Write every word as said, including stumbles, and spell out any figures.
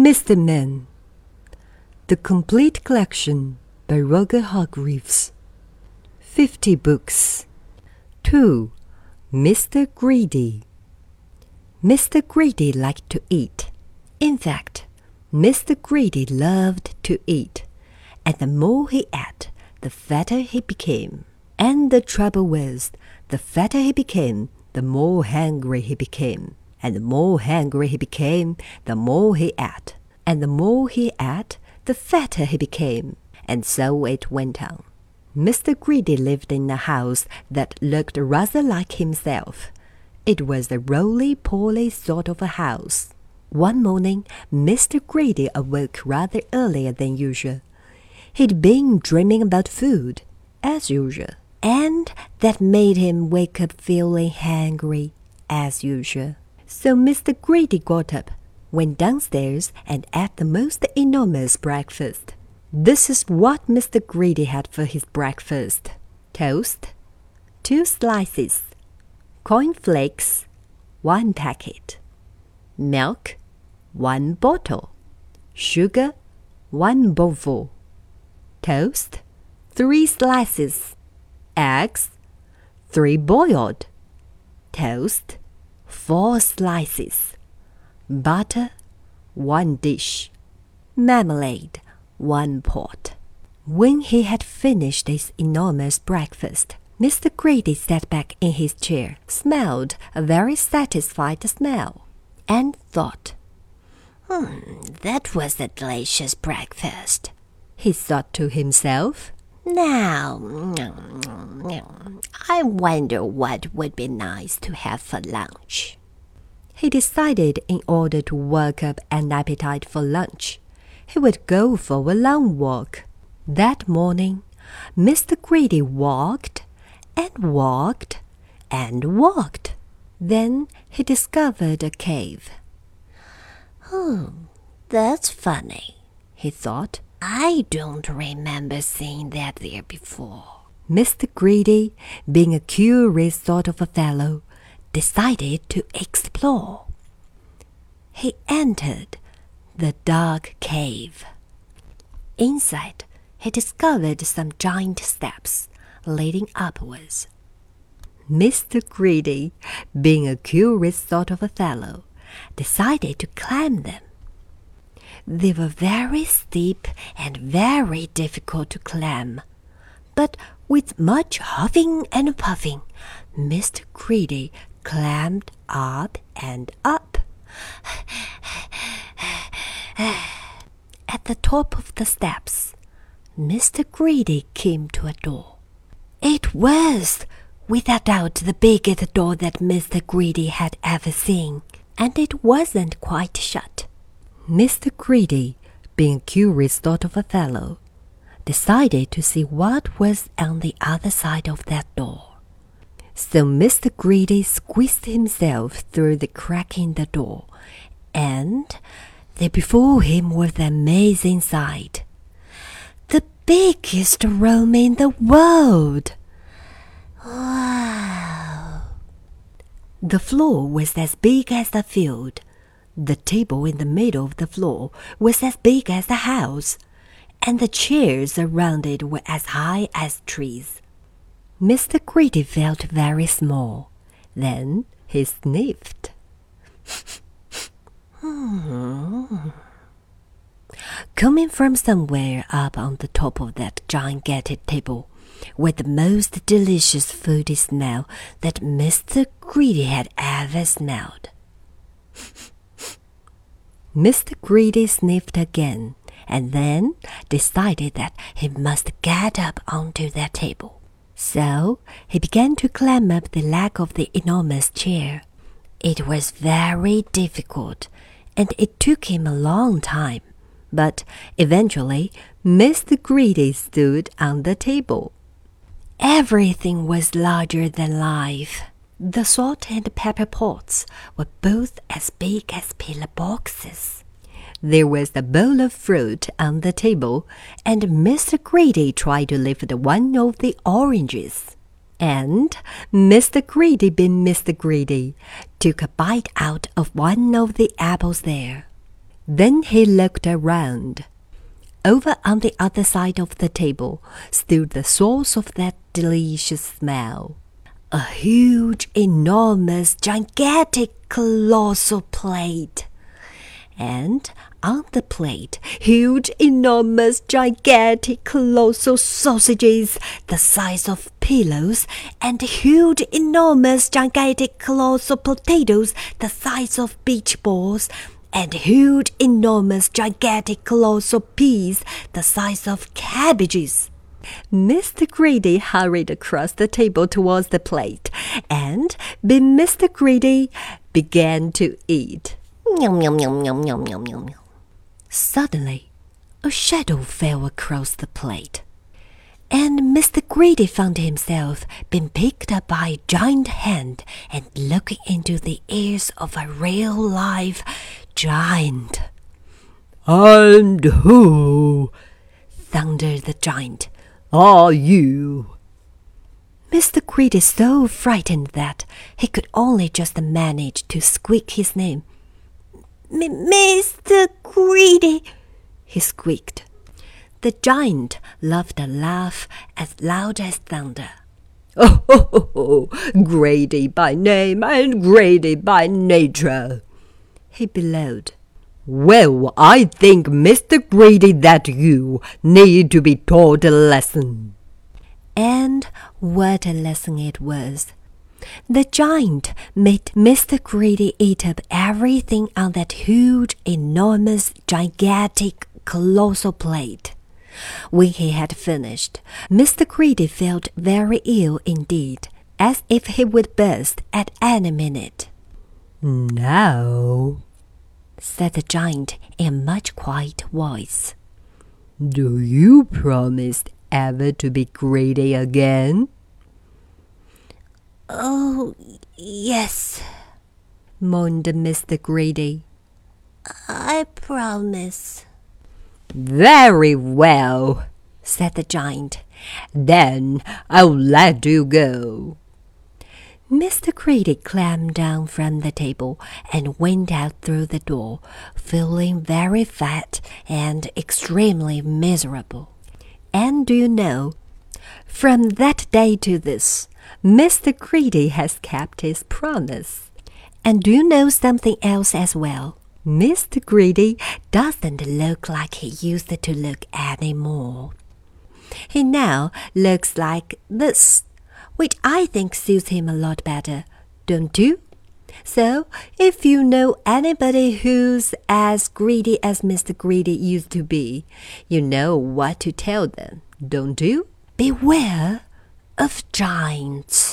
Mister Man. The Complete Collection by Roger Hargreaves. Fifty books. two. Mister Greedy. Mister Greedy liked to eat. In fact, Mister Greedy loved to eat, and the more he ate, the fatter he became. And the trouble was, the fatter he became, the more hungry he became. And the more hungry he became, the more he ate. And the more he ate, the fatter he became. And so it went on. Mister Greedy lived in a house that looked rather like himself. It was a roly-poly sort of a house. One morning, Mister Greedy awoke rather earlier than usual. He'd been dreaming about food, as usual, and that made him wake up feeling hungry, as usual. So Mister Greedy got up, went downstairs, and ate the most enormous breakfast. This is what Mister Greedy had for his breakfast. Toast, two slices, cornflakes, one packet, milk, one bottle, sugar, one bowlful, toast, three slices, eggs, three boiled, toast, four slices, butter, one dish, marmalade, one pot. When he had finished his enormous breakfast, Mister Greedy sat back in his chair, smelled a very satisfied smell, and thought, Hmm, that was a delicious breakfast. He thought to himself, Now, I wonder what would be nice to have for lunch. He decided in order to work up an appetite for lunch, he would go for a long walk. That morning, Mister Greedy walked and walked and walked. Then he discovered a cave. Hmm, that's funny, he thought. I don't remember seeing that there before. Mister Greedy, being a curious sort of a fellow, decided to explore. He entered the dark cave. Inside, he discovered some giant steps leading upwards. Mister Greedy, being a curious sort of a fellow, decided to climb them. They were very steep and very difficult to climb, but with much huffing and puffing, Mister Greedy climbed up and up. At the top of the steps, Mister Greedy came to a door. It was, without doubt, the biggest door that Mister Greedy had ever seen, and it wasn't quite shut. Mister Greedy, being a curious sort of a fellow, decided to see what was on the other side of that door. So Mister Greedy squeezed himself through the crack in the door, and there before him was the amazing sight. The biggest room in the world! Wow! The floor was as big as the field. The table in the middle of the floor was as big as the house, and the chairs around it were as high as trees. Mister Greedy felt very small. Then he sniffed. hmm. Coming from somewhere up on the top of that gigantic table were the most delicious foody smell that Mister Greedy had ever smelled. Mister Greedy sniffed again, and then decided that he must get up onto that table. So he began to climb up the leg of the enormous chair. It was very difficult, and it took him a long time, but eventually Mister Greedy stood on the table. Everything was larger than life. The salt and pepper pots were both as big as pillar boxes. There was a bowl of fruit on the table, and Mister Greedy tried to lift one of the oranges. And Mister Greedy, being Mister Greedy, took a bite out of one of the apples there. Then he looked around. Over on the other side of the table stood the source of that delicious smell. A huge, enormous, gigantic, colossal plate. And on the plate, huge, enormous, gigantic, colossal sausages the size of pillows, and huge, enormous, gigantic, colossal potatoes the size of beach balls, and huge, enormous, gigantic, colossal peas the size of cabbages. Mister Greedy hurried across the table towards the plate, and Mister Greedy began to eat. Yum, yum, yum, yum, yum, yum, yum. Suddenly, a shadow fell across the plate, and Mister Greedy found himself being picked up by a giant hand and looking into the ears of a real live giant. "And who," thundered the giant, "are you?" Mister Greedy so frightened that he could only just manage to squeak his name. Mister Greedy, he squeaked. The giant laughed a laugh as loud as thunder. "Oh, ho, ho, ho, Greedy by name and greedy by nature," he bellowed. "Well, I think, Mister Greedy, that you need to be taught a lesson." And what a lesson it was. The giant made Mister Greedy eat up everything on that huge, enormous, gigantic, colossal plate. When he had finished, Mister Greedy felt very ill indeed, as if he would burst at any minute. "Now," said the giant in a much quiet voice, "do you promise ever to be greedy again?" Oh, yes, moaned Mister Greedy. I promise. "Very well," said the giant. "Then I'll let you go." Mister Greedy climbed down from the table and went out through the door, feeling very fat and extremely miserable. And do you know, from that day to this, Mister Greedy has kept his promise. And do you know something else as well? Mister Greedy doesn't look like he used to look anymore. He now looks like this, which I think suits him a lot better, don't you? So, if you know anybody who's as greedy as Mister Greedy used to be, you know what to tell them, don't you? Beware of giants.